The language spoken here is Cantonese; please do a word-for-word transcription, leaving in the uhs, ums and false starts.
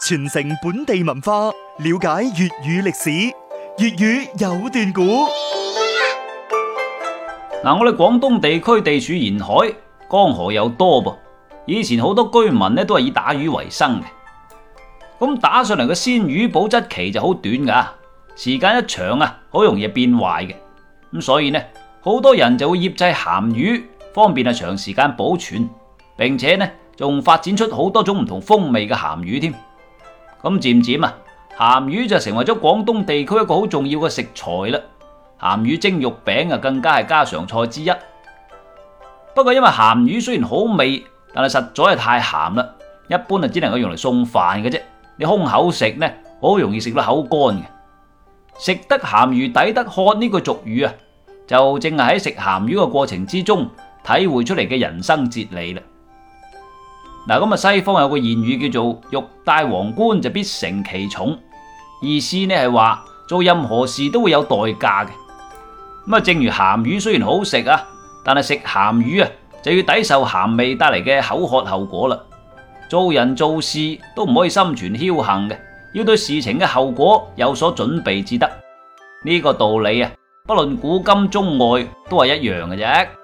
傳承本地文化，了解粵語歷史。粵語有段古。 嗱，我哋廣東地區地處沿海，江河又多噃，以前好多居民呢都係以打魚為生嘅。咁打上嚟嘅鮮魚保質期就好短噶，時間一長啊，好容易變壞嘅。咁所以呢，好多人就會醃製鹹魚，方便啊長時間保存，並且呢仲發展出好多種唔同風味嘅鹹魚添。咁漸漸啊，鹹魚就成為咗廣東地區一個好重要嘅食材啦。鹹魚蒸肉餅啊，更加係家常菜之一。不過因為鹹魚雖然好味，但係實在係太鹹啦，一般啊只能夠用嚟餸飯嘅啫。你空口食呢，好容易食到口乾嘅。食得鹹魚抵得渴呢句俗語啊，就正係喺食鹹魚嘅過程之中體會出嚟嘅人生哲理啦。嗱，咁啊西方有個諺語叫做欲戴皇冠就必承其重，意思呢係話做任何事都會有代價嘅。咁啊，正如鹹魚雖然好食啊，但係食鹹魚啊就要抵受鹹味帶嚟嘅口渴後果啦。做人做事都唔可以心存僥倖嘅，要對事情嘅後果有所準備至得。呢個道理啊，不論古今中外都係一樣嘅啫。